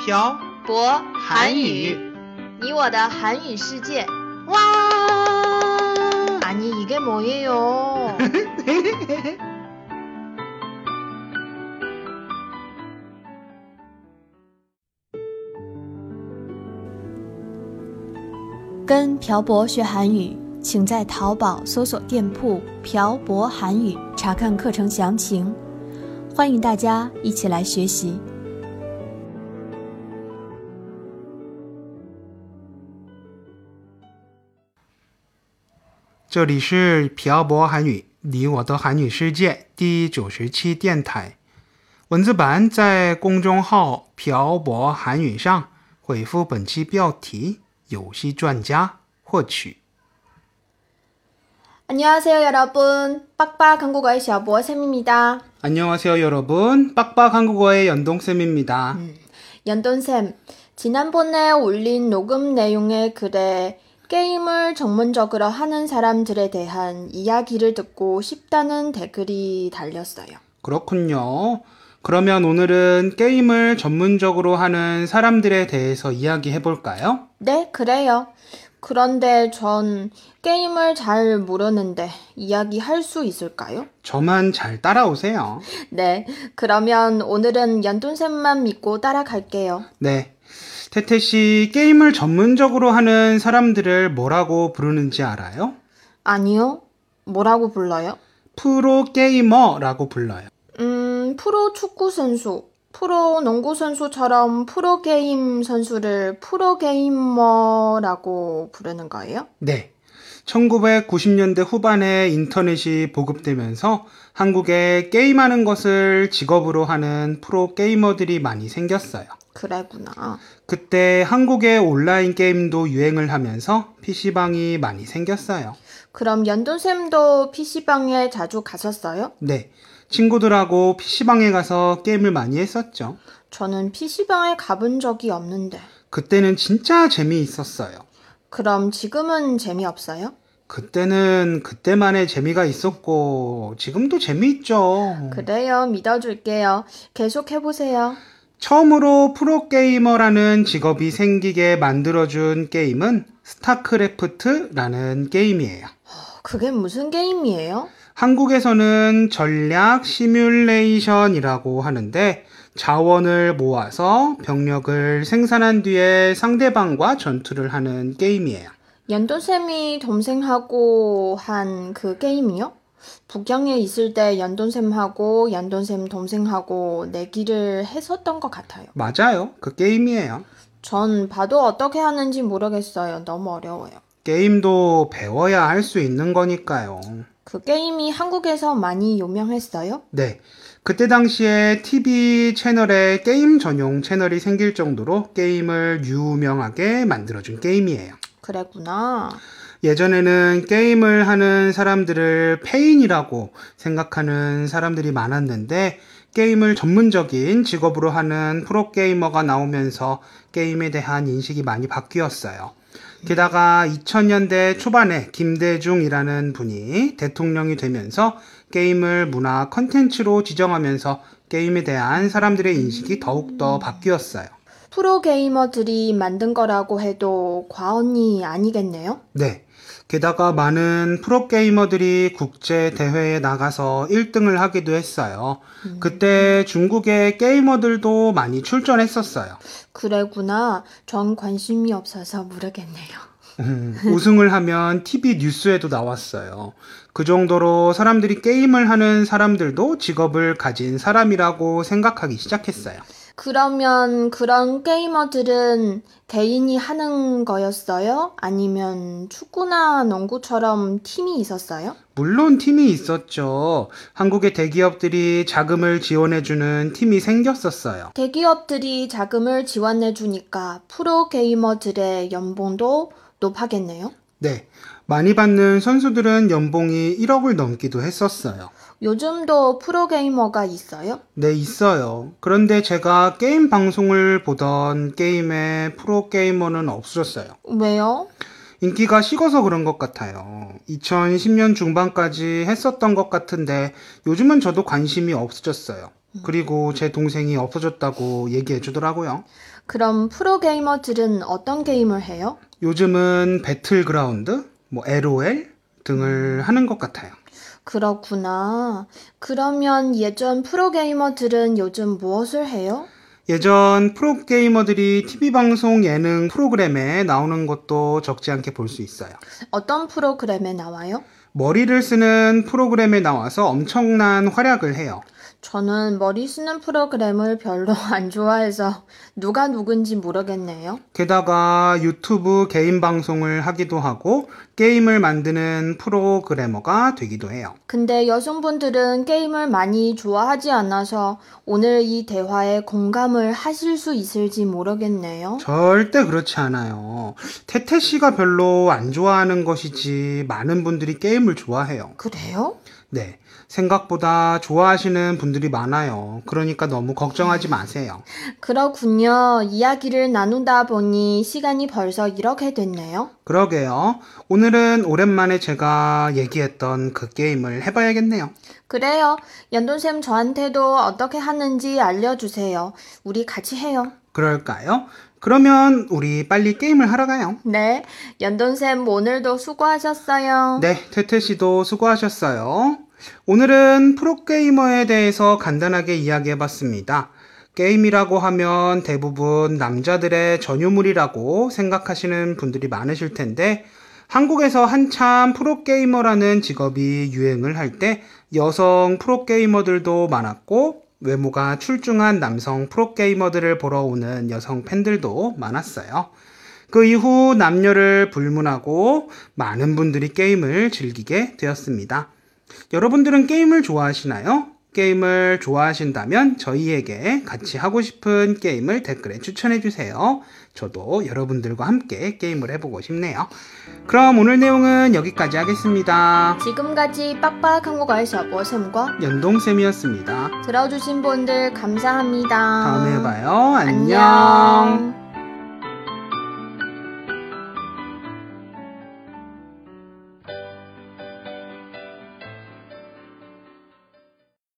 漂博韩语你我的韩语世界 와 아니 이게 뭐예요?跟朴博学韩语，请在淘宝搜索店铺朴博韩语查看课程详情。欢迎大家一起来学习。 这里是朴博韩语你我的韩语世界第97电台，文字版在公众号朴博韩语上回复本期标题游戏专家获取。 안녕하세요 여러분, 빡빡 한국어의 셔보쌤입니다. 안녕하세요 여러분, 빡빡 한국어의 연동쌤입니다. 연돈쌤, 지난번에 올린 녹음 내용의 글에 게임을 전문적으로 하는 사람들에 대한 이야기를 듣고 싶다는 댓글이 달렸어요. 그렇군요. 그러면 오늘은 게임을 전문적으로 하는 사람들에 대해서 이야기해볼까요? 네, 그래요. 그런데 전 게임을 잘 모르는데 이야기할 수 있을까요? 저만 잘 따라오세요. 네, 그러면 오늘은 연돈쌤만 믿고 따라갈게요. 네. 태태씨, 게임을 전문적으로 하는 사람들을 뭐라고 부르는지 알아요? 아니요. 뭐라고 불러요? 프로게이머라고 불러요. 프로 축구 선수, 프로 농구 선수처럼 프로게임 선수를 프로게이머라고 부르는 거예요? 네. 1990년대 후반에 인터넷이 보급되면서 한국에 게임하는 것을 직업으로 하는 프로게이머들이 많이 생겼어요. 그래구나. 그때 한국의 온라인 게임도 유행을 하면서 PC방이 많이 생겼어요. 그럼 연돈쌤도 PC방에 자주 갔었어요? 네. 친구들하고 PC방에 가서 게임을 많이 했었죠. 저는 PC방에 가본 적이 없는데. 그때는 진짜 재미있었어요. 그럼 지금은 재미없어요? 그때는 그때만의 재미가 있었고 지금도 재미있죠. 그래요. 믿어줄게요. 계속 해보세요. 처음으로 프로게이머라는 직업이 생기게 만들어준 게임은 스타크래프트라는 게임이에요. 그게 무슨 게임이에요? 한국에서는 전략 시뮬레이션이라고 하는데 자원을 모아서 병력을 생산한 뒤에 상대방과 전투를 하는 게임이에요. 연돈쌤이 동생하고 한 그 게임이요? 북경에 있을 때 연돈쌤하고 연돈쌤 동생하고 내기를 했었던 것 같아요. 맞아요. 그 게임이에요. 전 봐도 어떻게 하는지 모르겠어요. 너무 어려워요. 게임도 배워야 할 수 있는 거니까요. 그 게임이 한국에서 많이 유명했어요? 네. 그때 당시에 TV 채널에 게임 전용 채널이 생길 정도로 게임을 유명하게 만들어준 게임이에요. 그랬구나. 예전에는 게임을 하는 사람들을 페인이라고 생각하는 사람들이 많았는데 게임을 전문적인 직업으로 하는 프로게이머가 나오면서 게임에 대한 인식이 많이 바뀌었어요. 게다가 2000년대 초반에 김대중이라는 분이 대통령이 되면서 게임을 문화 컨텐츠로 지정하면서 게임에 대한 사람들의 인식이 더욱더 바뀌었어요. 프로게이머들이 만든 거라고 해도 과언이 아니겠네요? 네. 게다가 많은 프로게이머들이 국제 대회에 나가서 1등을 하기도 했어요. 그때 중국의 게이머들도 많이 출전했었어요. 그래구나. 전 관심이 없어서 모르겠네요. 우승을 하면 TV 뉴스에도 나왔어요. 그 정도로 사람들이 게임을 하는 사람들도 직업을 가진 사람이라고 생각하기 시작했어요. 그러면 그런 게이머들은 개인이 하는 거였어요? 아니면 축구나 농구처럼 팀이 있었어요? 물론 팀이 있었죠. 한국의 대기업들이 자금을 지원해주는 팀이 생겼었어요. 대기업들이 자금을 지원해주니까 프로게이머들의 연봉도 높아겠네요? 네. 많이 받는 선수들은 연봉이 1억을 넘기도 했었어요. 요즘도 프로게이머가 있어요? 네, 있어요. 그런데 제가 게임 방송을 보던 게임에 프로게이머는 없어졌어요. 왜요? 인기가 식어서 그런 것 같아요. 2010년 중반까지 했었던 것 같은데 요즘은 저도 관심이 없어졌어요. 그리고 제 동생이 없어졌다고 얘기해 주더라고요. 그럼 프로게이머들은 어떤 게임을 해요? 요즘은 배틀그라운드, LOL 등을 하는 것 같아요. 그렇구나. 그러면 예전 프로게이머들은 요즘 무엇을 해요? 예전 프로게이머들이 TV방송 예능 프로그램에 나오는 것도 적지 않게 볼 수 있어요. 어떤 프로그램에 나와요? 머리를 쓰는 프로그램에 나와서 엄청난 활약을 해요. 저는 머리 쓰는 프로그램을 별로 안 좋아해서 누가 누군지 모르겠네요. 게다가 유튜브 개인 방송을 하기도 하고 게임을 만드는 프로그래머가 되기도 해요. 근데 여성분들은 게임을 많이 좋아하지 않아서 오늘 이 대화에 공감을 하실 수 있을지 모르겠네요. 절대 그렇지 않아요. 태태 씨가 별로 안 좋아하는 것이지 많은 분들이 게임을 좋아해요. 그래요? 네, 생각보다 좋아하시는 분들이 많아요. 그러니까 너무 걱정하지 마세요. 그렇군요. 이야기를 나누다 보니 시간이 벌써 이렇게 됐네요. 그러게요. 오늘은 오랜만에 제가 얘기했던 그 게임을 해봐야겠네요. 그래요. 연돈쌤 저한테도 어떻게 하는지 알려주세요. 우리 같이 해요. 그럴까요? 그러면 우리 빨리 게임을 하러 가요. 네, 연돈쌤 오늘도 수고하셨어요. 네, 태태 씨도 수고하셨어요. 오늘은 프로게이머에 대해서 간단하게 이야기해봤습니다. 게임이라고 하면 대부분 남자들의 전유물이라고 생각하시는 분들이 많으실 텐데 한국에서 한참 프로게이머라는 직업이 유행을 할 때 여성 프로게이머들도 많았고 외모가 출중한 남성 프로게이머들을 보러 오는 여성 팬들도 많았어요. 그 이후 남녀를 불문하고 많은 분들이 게임을 즐기게 되었습니다. 여러분들은 게임을 좋아하시나요? 게임을 좋아하신다면 저희에게 같이 하고 싶은 게임을 댓글에 추천해주세요. 저도 여러분들과 함께 게임을 해보고 싶네요. 그럼 오늘 내용은 여기까지 하겠습니다. 지금까지 빡빡한국어의 셔보쌤과 연동쌤이었습니다. 들어주신 분들 감사합니다. 다음에 봐요. 안녕. 안녕.